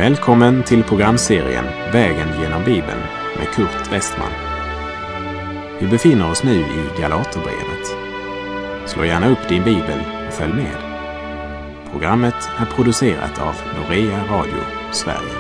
Välkommen till programserien Vägen genom Bibeln med Kurt Westman. Vi befinner oss nu i Galaterbrevet. Slå gärna upp din bibel och följ med. Programmet är producerat av Norea Radio Sverige.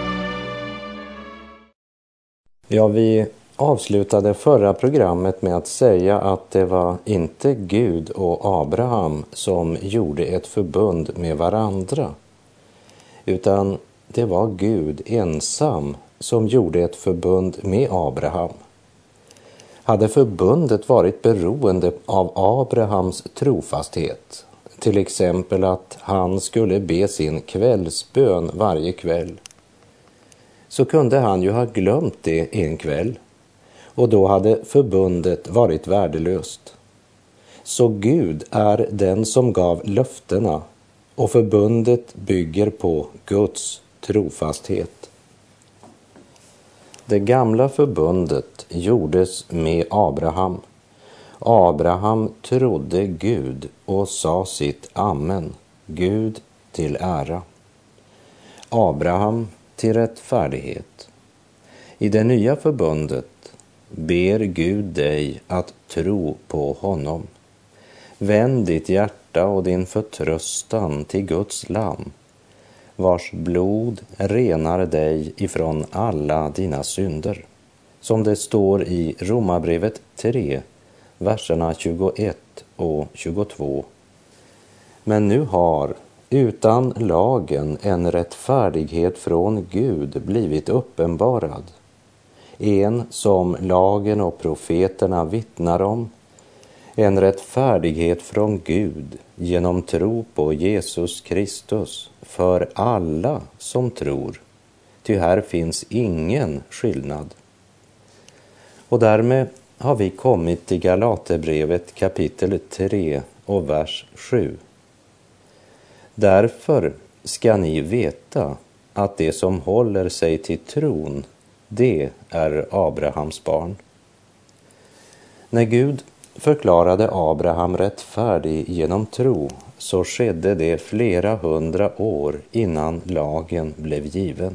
Ja, vi avslutade förra programmet med att säga att det var inte Gud och Abraham som gjorde ett förbund med varandra, utan det var Gud ensam som gjorde ett förbund med Abraham. Hade förbundet varit beroende av Abrahams trofasthet, till exempel att han skulle be sin kvällsbön varje kväll, så kunde han ju ha glömt det en kväll, och då hade förbundet varit värdelöst. Så Gud är den som gav löftena, och förbundet bygger på Guds trofasthet. Det gamla förbundet gjordes med Abraham. Abraham trodde Gud och sa sitt amen, Gud till ära. Abraham till rättfärdighet. I det nya förbundet ber Gud dig att tro på honom. Vänd ditt hjärta och din förtröstan till Guds lamm, vars blod renar dig ifrån alla dina synder. Som det står i Romarbrevet 3, verserna 21 och 22. Men nu har utan lagen en rättfärdighet från Gud blivit uppenbarad. En som lagen och profeterna vittnar om. En rättfärdighet från Gud genom tro på Jesus Kristus för alla som tror. Ty här finns ingen skillnad. Och därmed har vi kommit till Galaterbrevet kapitel 3 och vers 7. Därför ska ni veta att det som håller sig till tron, det är Abrahams barn. När Gud förklarade Abraham rättfärdig genom tro, så skedde det flera hundra år innan lagen blev given.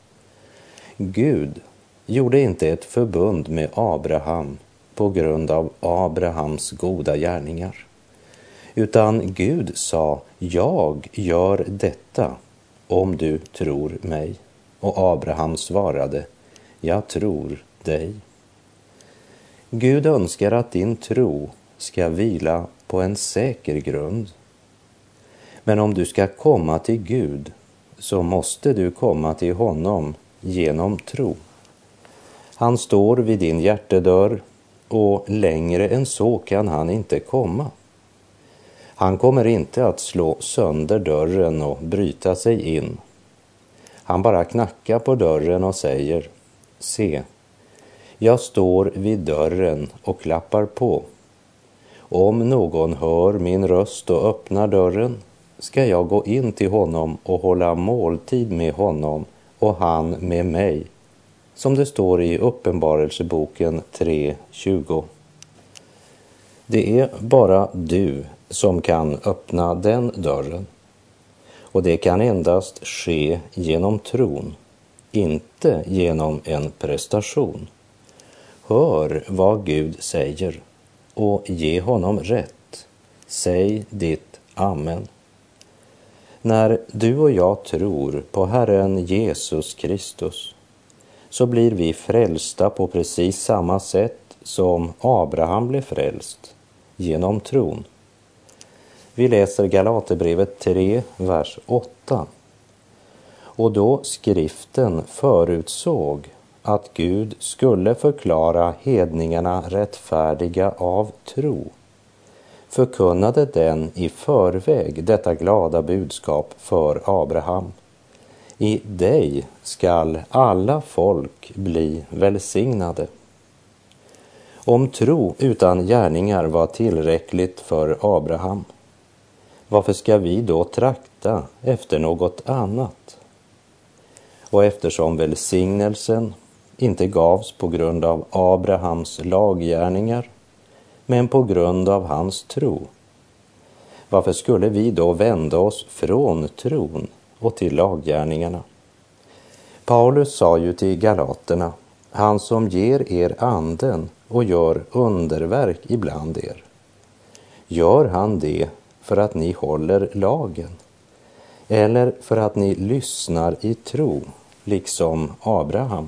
Gud gjorde inte ett förbund med Abraham på grund av Abrahams goda gärningar, utan Gud sa, jag gör detta om du tror mig. Och Abraham svarade, jag tror dig. Gud önskar att din tro ska vila på en säker grund. Men om du ska komma till Gud, så måste du komma till honom genom tro. Han står vid din hjärtedörr, och längre än så kan han inte komma. Han kommer inte att slå sönder dörren och bryta sig in. Han bara knackar på dörren och säger, se, jag står vid dörren och klappar på. Om någon hör min röst och öppnar dörren, ska jag gå in till honom och hålla måltid med honom och han med mig. Som det står i Uppenbarelseboken 3:20. Det är bara du som kan öppna den dörren. Och det kan endast ske genom tron, inte genom en prestation. Hör vad Gud säger och ge honom rätt. Säg ditt amen. När du och jag tror på Herren Jesus Kristus, så blir vi frälsta på precis samma sätt som Abraham blev frälst, genom tron. Vi läser Galaterbrevet 3, vers 8. Och då skriften förutsåg att Gud skulle förklara hedningarna rättfärdiga av tro, förkunnade den i förväg detta glada budskap för Abraham. I dig skall alla folk bli välsignade. Om tro utan gärningar var tillräckligt för Abraham, varför ska vi då trakta efter något annat? Och eftersom välsignelsen inte gavs på grund av Abrahams laggärningar, men på grund av hans tro, varför skulle vi då vända oss från tron och till laggärningarna? Paulus sa ju till galaterna, han som ger er anden och gör underverk ibland er. Gör han det för att ni håller lagen eller för att ni lyssnar i tro, liksom Abraham?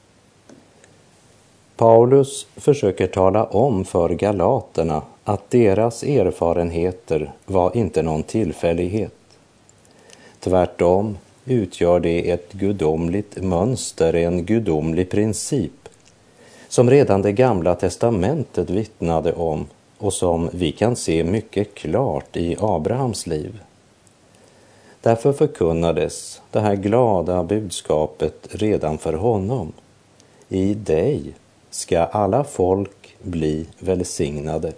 Paulus försöker tala om för galaterna att deras erfarenheter var inte någon tillfällighet. Tvärtom utgör det ett gudomligt mönster, en gudomlig princip som redan det gamla testamentet vittnade om och som vi kan se mycket klart i Abrahams liv. Därför förkunnades det här glada budskapet redan för honom. I dig ska alla folk bli välsignade.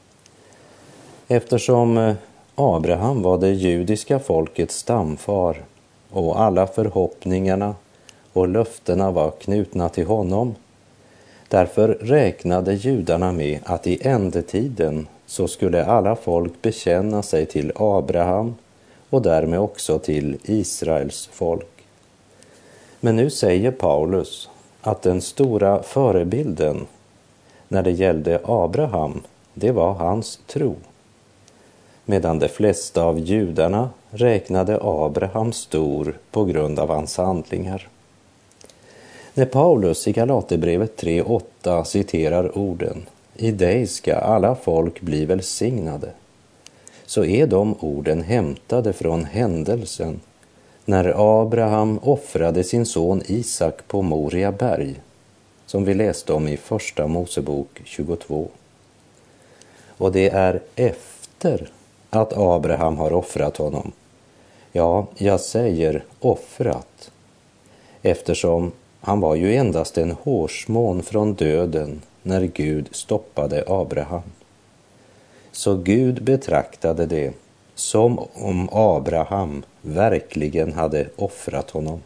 Eftersom Abraham var det judiska folkets stamfar och alla förhoppningarna och löftena var knutna till honom, därför räknade judarna med att i ändetiden så skulle alla folk bekänna sig till Abraham och därmed också till Israels folk. Men nu säger Paulus att den stora förebilden när det gällde Abraham, det var hans tro. Medan de flesta av judarna räknade Abraham stor på grund av hans handlingar. När Paulus i Galaterbrevet 3:8 citerar orden "I dig ska alla folk bli välsignade", så är de orden hämtade från händelsen när Abraham offrade sin son Isak på Moria berg, som vi läste om i första Mosebok 22. Och det är efter att Abraham har offrat honom. Ja, jag säger offrat, eftersom han var ju endast en hårsmån från döden när Gud stoppade Abraham. Så Gud betraktade det som om Abraham verkligen hade offrat honom.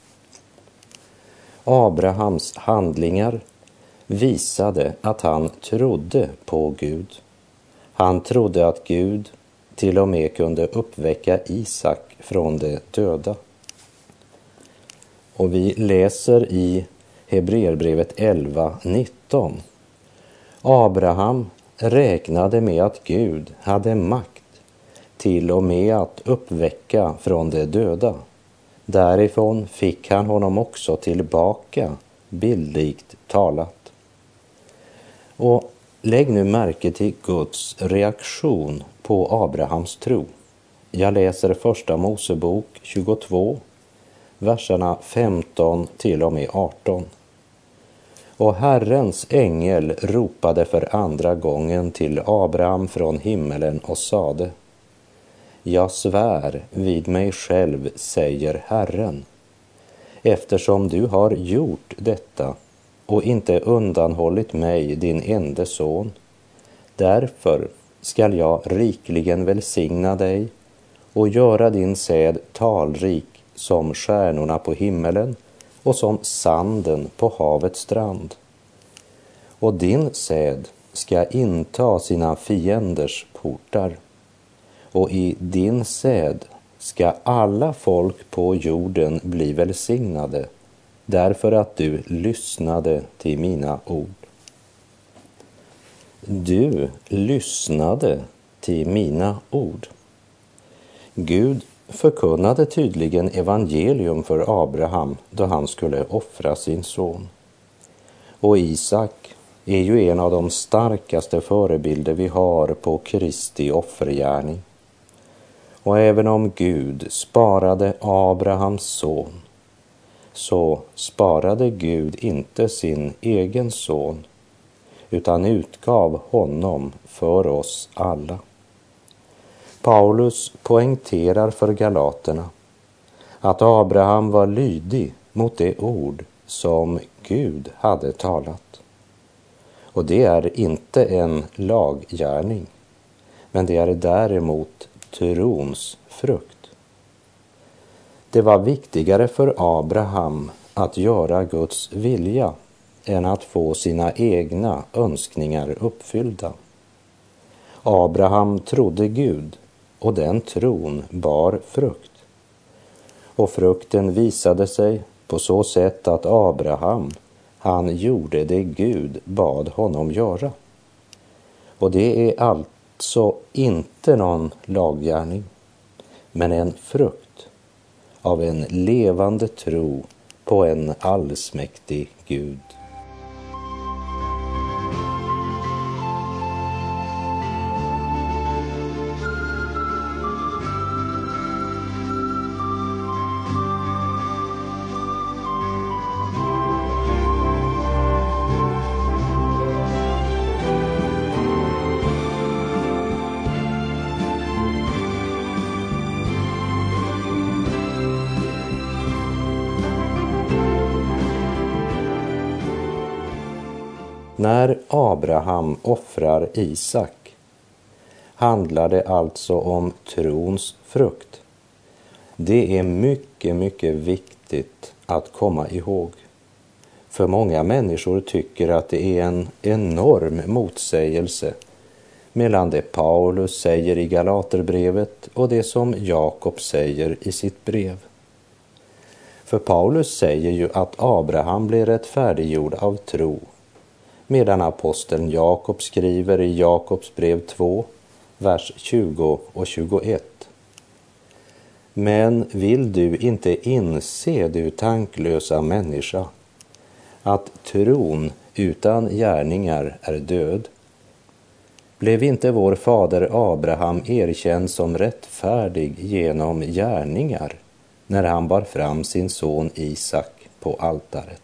Abrahams handlingar visade att han trodde på Gud. Han trodde att Gud till och med kunde uppväcka Isak från de döda. Och vi läser i Hebreerbrevet 11:19. Abraham räknade med att Gud hade makt till och med att uppväcka från de döda. Därifrån fick han honom också tillbaka, bildligt talat. Och lägg nu märke till Guds reaktion på Abrahams tro. Jag läser första Mosebok 22, verserna 15 till och med 18. Och Herrens ängel ropade för andra gången till Abraham från himmelen och sade: Jag svär vid mig själv, säger Herren, eftersom du har gjort detta och inte undanhållit mig din ende son, därför skall jag rikligen välsigna dig och göra din säd talrik som stjärnorna på himmelen och som sanden på havets strand. Och din säd ska inta sina fienders portar, och i din säd ska alla folk på jorden bli välsignade, därför att du lyssnade till mina ord. Du lyssnade till mina ord. Gud förkunnade tydligen evangelium för Abraham då han skulle offra sin son. Och Isak är ju en av de starkaste förebilder vi har på Kristi offergärning. Och även om Gud sparade Abrahams son, så sparade Gud inte sin egen son, utan utgav honom för oss alla. Paulus poängterar för galaterna att Abraham var lydig mot det ord som Gud hade talat. Och det är inte en laggärning, men det är däremot trons frukt. Det var viktigare för Abraham att göra Guds vilja än att få sina egna önskningar uppfyllda. Abraham trodde Gud, och den tron bar frukt. Och frukten visade sig på så sätt att Abraham, han gjorde det Gud bad honom göra. Och det är alltså inte någon laggärning, men en frukt av en levande tro på en allsmäktig Gud. När Abraham offrar Isak handlar det alltså om trons frukt. Det är mycket viktigt att komma ihåg. För många människor tycker att det är en enorm motsägelse mellan det Paulus säger i Galaterbrevet och det som Jakob säger i sitt brev. För Paulus säger ju att Abraham blev rättfärdiggjord av tro, medan aposteln Jakob skriver i Jakobs brev 2, vers 20 och 21. Men vill du inte inse, du tanklösa människa, att tron utan gärningar är död? Blev inte vår fader Abraham erkänd som rättfärdig genom gärningar när han bar fram sin son Isak på altaret?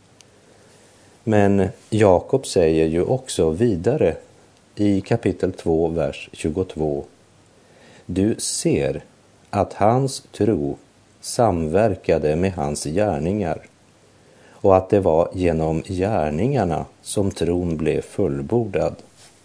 Men Jakob säger ju också vidare i kapitel 2, vers 22. Du ser att hans tro samverkade med hans gärningar och att det var genom gärningarna som tron blev fullbordad.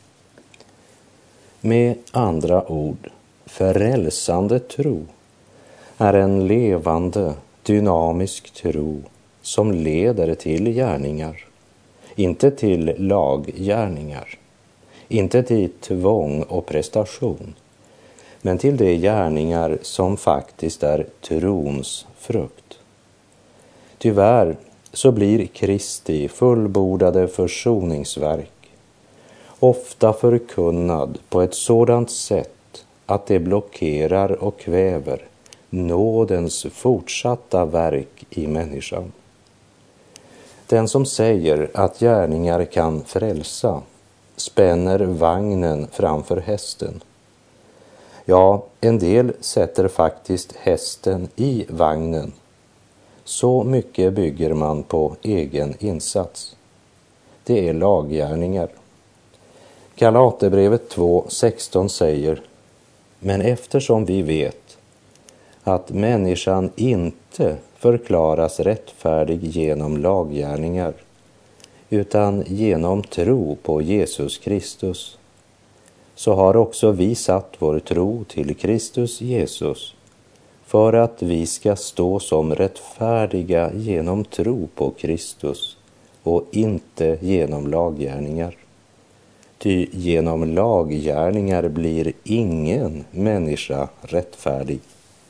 Med andra ord, frälsande tro är en levande, dynamisk tro som leder till gärningar. Inte till laggärningar, inte till tvång och prestation, men till de gärningar som faktiskt är trons frukt. Tyvärr så blir Kristi fullbordade försoningsverk ofta förkunnad på ett sådant sätt att det blockerar och kväver nådens fortsatta verk i människan. Den som säger att gärningar kan frälsa spänner vagnen framför hästen. Ja, en del sätter faktiskt hästen i vagnen. Så mycket bygger man på egen insats. Det är laggärningar. Galaterbrevet 2:16 säger: men eftersom vi vet att människan inte förklaras rättfärdig genom laggärningar utan genom tro på Jesus Kristus, så har också vi satt vår tro till Kristus Jesus för att vi ska stå som rättfärdiga genom tro på Kristus och inte genom laggärningar. Ty genom laggärningar blir ingen människa rättfärdig.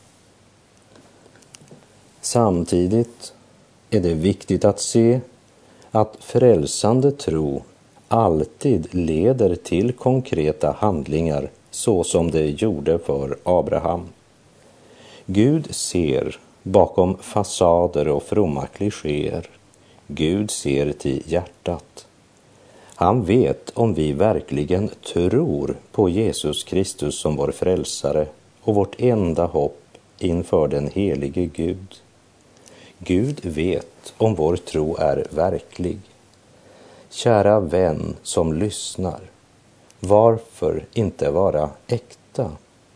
Samtidigt är det viktigt att se att frälsande tro alltid leder till konkreta handlingar så som det gjorde för Abraham. Gud ser bakom fasader och fromma klichéer. Gud ser till hjärtat. Han vet om vi verkligen tror på Jesus Kristus som vår frälsare och vårt enda hopp inför den helige Gud. Gud vet om vår tro är verklig. Kära vän som lyssnar, varför inte vara äkta?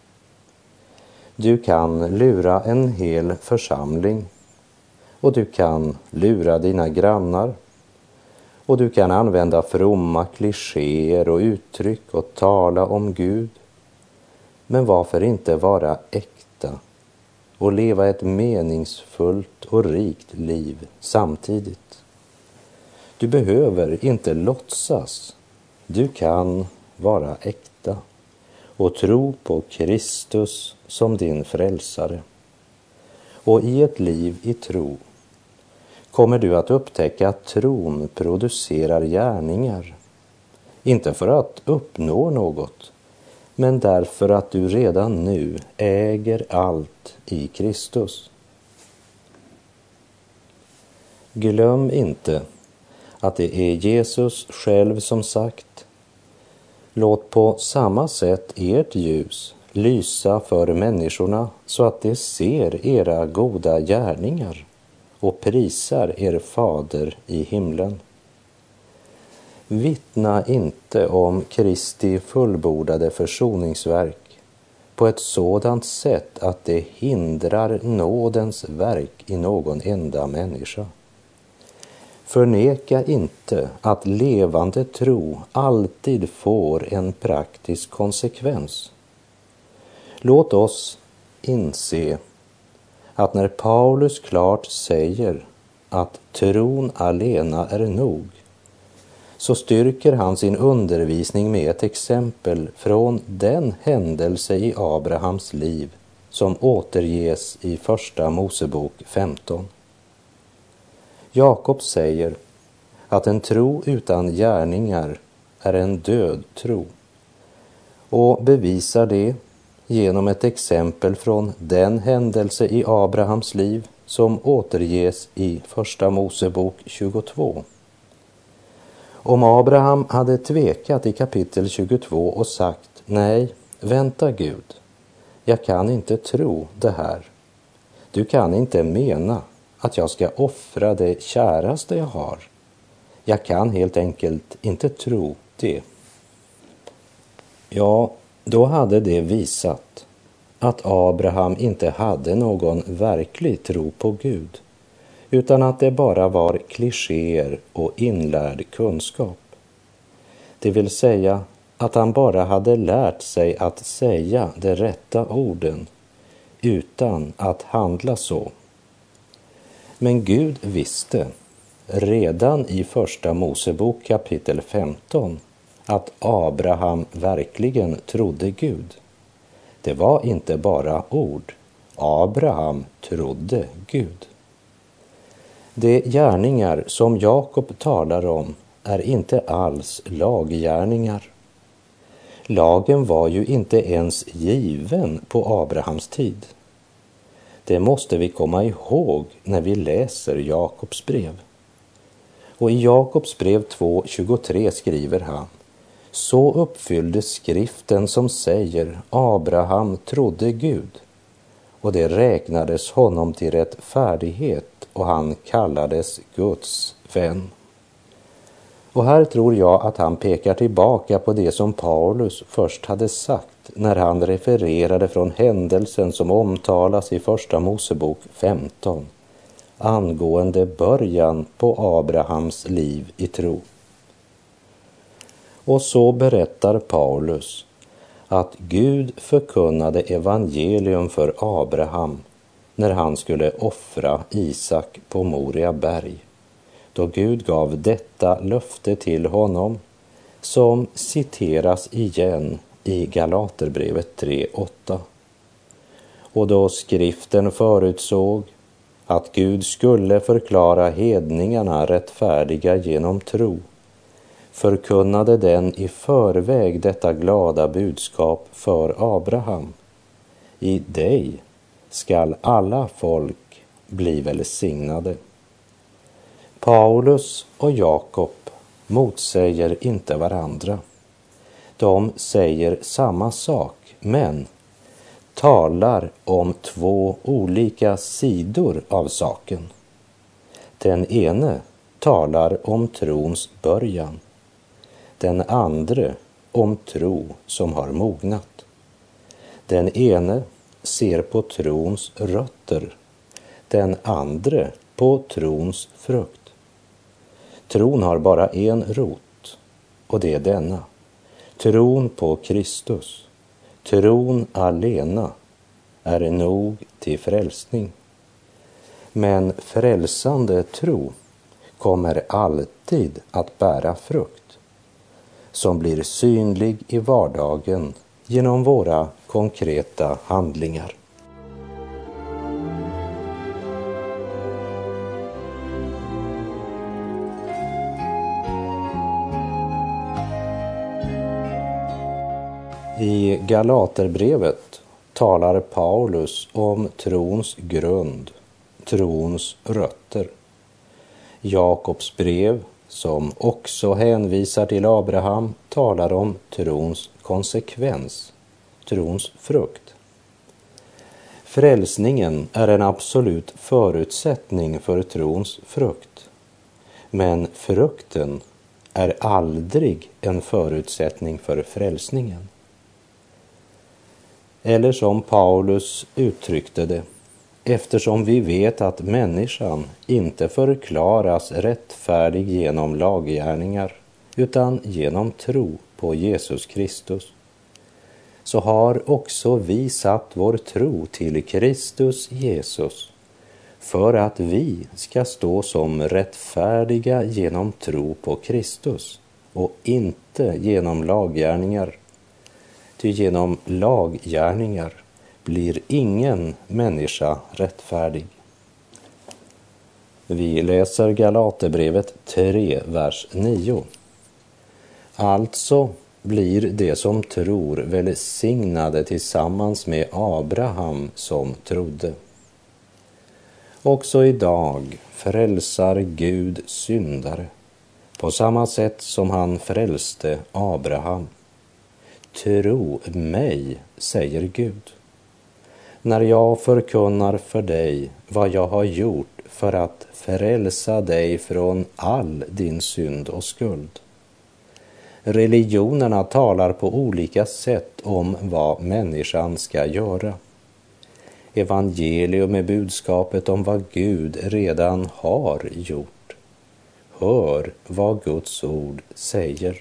Du kan lura en hel församling, och du kan lura dina grannar, och du kan använda fromma klichéer och uttryck och tala om Gud. Men varför inte vara äkta och leva ett meningsfullt och rikt liv samtidigt? Du behöver inte låtsas. Du kan vara äkta och tro på Kristus som din frälsare. Och i ett liv i tro kommer du att upptäcka att tron producerar gärningar. Inte för att uppnå något, men därför att du redan nu äger allt i Kristus. Glöm inte att det är Jesus själv som sagt: låt på samma sätt ert ljus lysa för människorna så att de ser era goda gärningar och prisar er fader i himlen. Vittna inte om Kristi fullbordade försoningsverk på ett sådant sätt att det hindrar nådens verk i någon enda människa. Förneka inte att levande tro alltid får en praktisk konsekvens. Låt oss inse att när Paulus klart säger att tron alena är nog, så styrker han sin undervisning med ett exempel från den händelse i Abrahams liv som återges i Första Mosebok 15. Jakob säger att en tro utan gärningar är en död tro, och bevisar det genom ett exempel från den händelse i Abrahams liv som återges i Första Mosebok 22. Om Abraham hade tvekat i kapitel 22 och sagt: nej, vänta Gud, jag kan inte tro det här. Du kan inte mena att jag ska offra det käraste jag har. Jag kan helt enkelt inte tro det. Ja, då hade det visat att Abraham inte hade någon verklig tro på Gud, utan att det bara var klichéer och inlärd kunskap. Det vill säga att han bara hade lärt sig att säga de rätta orden utan att handla så. Men Gud visste redan i Första Mosebok kapitel 15 att Abraham verkligen trodde Gud. Det var inte bara ord. Abraham trodde Gud. De gärningar som Jakob talar om är inte alls laggärningar. Lagen var ju inte ens given på Abrahams tid. Det måste vi komma ihåg när vi läser Jakobs brev. Och i Jakobs brev 2:23 skriver han: så uppfylldes skriften som säger: Abraham trodde Gud, och det räknades honom till rättfärdighet, och han kallades Guds vän. Och här tror jag att han pekar tillbaka på det som Paulus först hade sagt när han refererade från händelsen som omtalas i Första Mosebok 15 angående början på Abrahams liv i tro. Och så berättar Paulus att Gud förkunnade evangelium för Abraham när han skulle offra Isak på Moria berg, då Gud gav detta löfte till honom, som citeras igen i Galaterbrevet 3:8. Och då skriften förutsåg att Gud skulle förklara hedningarna rättfärdiga genom tro, förkunnade den i förväg detta glada budskap för Abraham: i dig skall alla folk bli välsignade. Paulus och Jakob motsäger inte varandra. De säger samma sak, men talar om två olika sidor av saken. Den ene talar om trons början, den andra om tro som har mognat. Den ene ser på trons rötter, den andra på trons frukt. Tron har bara en rot, och det är denna: tron på Kristus. Tron alena är nog till frälsning. Men frälsande tro kommer alltid att bära frukt, som blir synlig i vardagen genom våra konkreta handlingar. I Galaterbrevet talar Paulus om trons grund, trons rötter. Jakobs brev, som också hänvisar till Abraham, talar om trons konsekvens, trons frukt. Frälsningen är en absolut förutsättning för trons frukt, men frukten är aldrig en förutsättning för frälsningen. Eller som Paulus uttryckte det, eftersom vi vet att människan inte förklaras rättfärdig genom laggärningar utan genom tro på Jesus Kristus, så har också vi satt vår tro till Kristus Jesus för att vi ska stå som rättfärdiga genom tro på Kristus och inte genom laggärningar. Ty genom laggärningar blir ingen människa rättfärdig. Vi läser Galaterbrevet 3, vers 9. Alltså blir det som tror välsignade tillsammans med Abraham som trodde. Också idag frälsar Gud syndare på samma sätt som han frälste Abraham. Tro mig, säger Gud, när jag förkunnar för dig vad jag har gjort för att frälsa dig från all din synd och skuld. Religionerna talar på olika sätt om vad människan ska göra. Evangelium är budskapet om vad Gud redan har gjort. Hör vad Guds ord säger.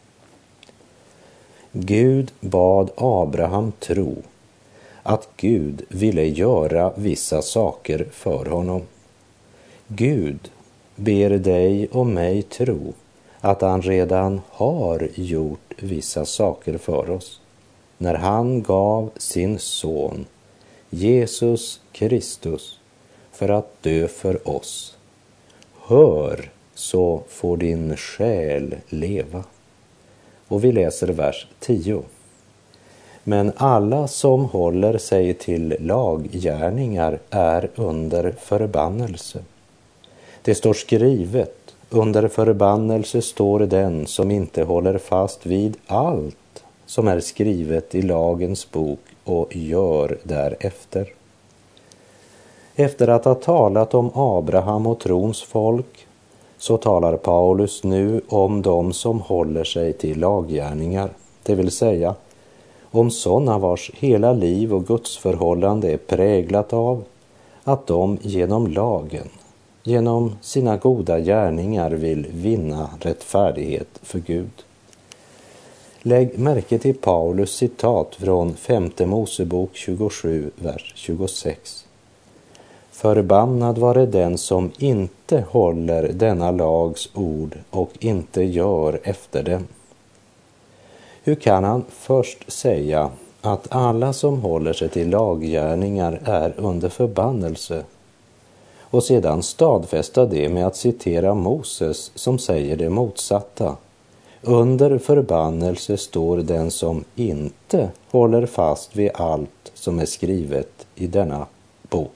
Gud bad Abraham tro att Gud ville göra vissa saker för honom. Gud ber dig och mig tro att han redan har gjort vissa saker för oss när han gav sin son Jesus Kristus för att dö för oss. Hör, så får din själ leva. Och vi läser vers 10. Men alla som håller sig till laggärningar är under förbannelse. Det står skrivet, under förbannelse står den som inte håller fast vid allt som är skrivet i lagens bok och gör därefter. Efter att ha talat om Abraham och trons folk, så talar Paulus nu om dem som håller sig till laggärningar, det vill säga om sådana vars hela liv och gudsförhållande är präglat av att de genom lagen, genom sina goda gärningar vill vinna rättfärdighet för Gud. Lägg märke till Paulus citat från 5:e Mosebok 27, vers 26. Förbannad vare den som inte håller denna lags ord och inte gör efter den. Hur kan han först säga att alla som håller sig till laggärningar är under förbannelse och sedan stadfästa det med att citera Moses som säger det motsatta? Under förbannelse står den som inte håller fast vid allt som är skrivet i denna bok.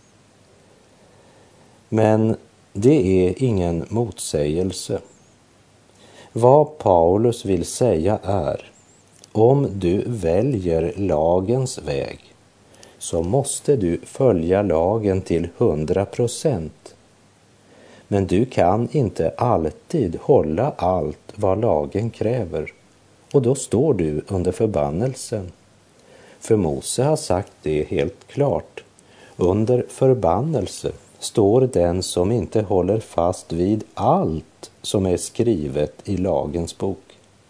Men det är ingen motsägelse. Vad Paulus vill säga är, om du väljer lagens väg så måste du följa lagen till 100%. Men du kan inte alltid hålla allt vad lagen kräver, och då står du under förbannelsen. För Mose har sagt det helt klart. Under förbannelse står den som inte håller fast vid allt som är skrivet i lagens bok.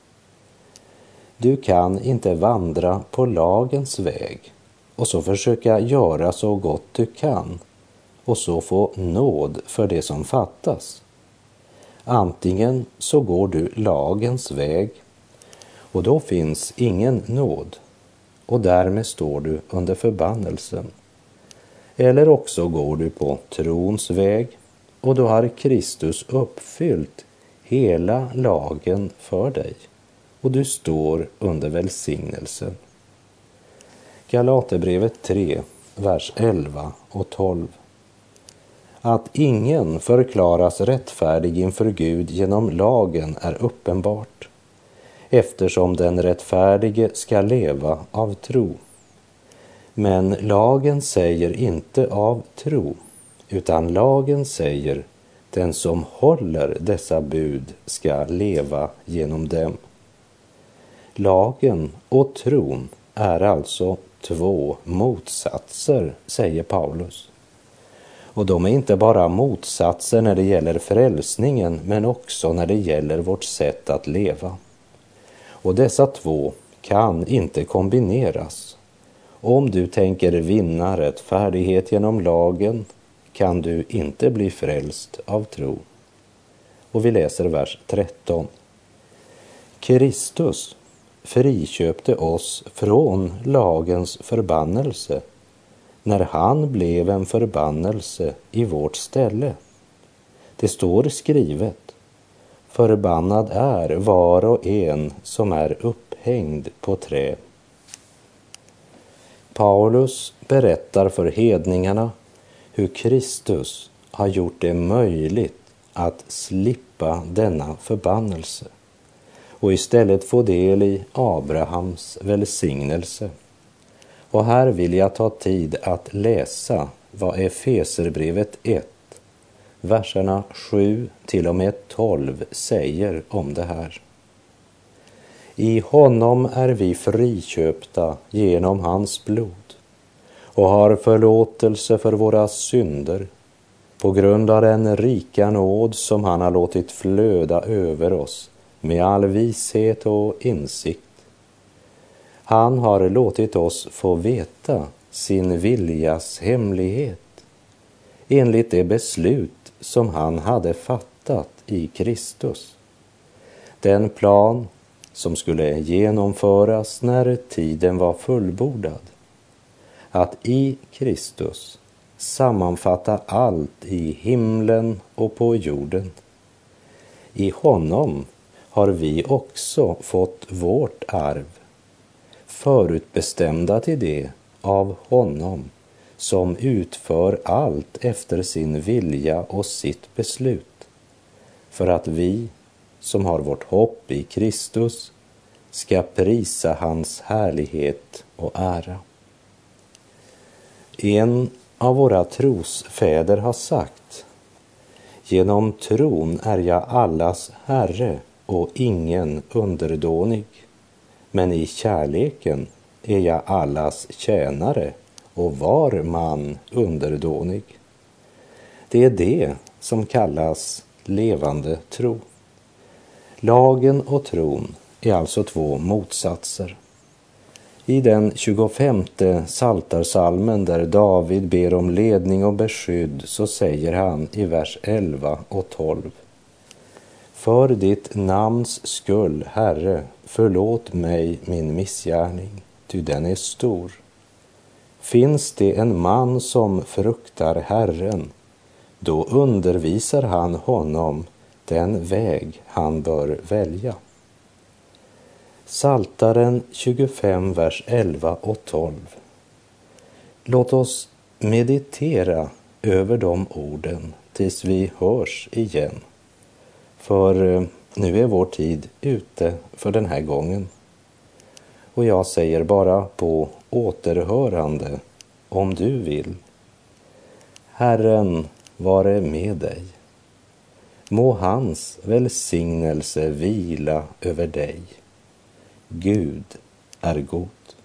Du kan inte vandra på lagens väg och så försöka göra så gott du kan och så få nåd för det som fattas. Antingen så går du lagens väg och då finns ingen nåd och därmed står du under förbannelsen. Eller också går du på trons väg och då har Kristus uppfyllt hela lagen för dig och du står under välsignelsen. Galaterbrevet 3, vers 11 och 12. Att ingen förklaras rättfärdig inför Gud genom lagen är uppenbart, eftersom den rättfärdige ska leva av tro. Men lagen säger inte av tro, utan lagen säger den som håller dessa bud ska leva genom dem. Lagen och tron är alltså två motsatser, säger Paulus. Och de är inte bara motsatser när det gäller frälsningen, men också när det gäller vårt sätt att leva. Och dessa två kan inte kombineras. Om du tänker vinna rättfärdighet genom lagen kan du inte bli frälst av tro. Och vi läser vers 13. Kristus friköpte oss från lagens förbannelse när han blev en förbannelse i vårt ställe. Det står skrivet: förbannad är var och en som är upphängd på trä. Paulus berättar för hedningarna hur Kristus har gjort det möjligt att slippa denna förbannelse och istället få del i Abrahams välsignelse. Och här vill jag ta tid att läsa vad Efeserbrevet 1, verserna 7 till och med 12 säger om det här. I honom är vi friköpta genom hans blod och har förlåtelse för våra synder på grund av den rika nåd som han har låtit flöda över oss med all vishet och insikt. Han har låtit oss få veta sin viljas hemlighet enligt det beslut som han hade fattat i Kristus. Den plan som skulle genomföras när tiden var fullbordad. Att i Kristus sammanfatta allt i himlen och på jorden. I honom har vi också fått vårt arv, förutbestämda till det av honom som utför allt efter sin vilja och sitt beslut, för att vi som har vårt hopp i Kristus ska prisa hans härlighet och ära. En av våra trosfäder har sagt: genom tron är jag allas herre och ingen underdånig, men i kärleken är jag allas tjänare och var man underdånig. Det är det som kallas levande tro. Lagen och tron är alltså två motsatser. I den 25:e psaltarpsalmen där David ber om ledning och beskydd så säger han i vers 11 och 12: för ditt namns skull, Herre, förlåt mig min missgärning, ty den är stor. Finns det en man som fruktar Herren, då undervisar han honom den väg han bör välja. Psaltaren 25, vers 11 och 12. Låt oss meditera över de orden tills vi hörs igen. För nu är vår tid ute för den här gången. Och jag säger bara på återhörande om du vill. Herren vare med dig. Må hans välsignelse vila över dig. Gud är god.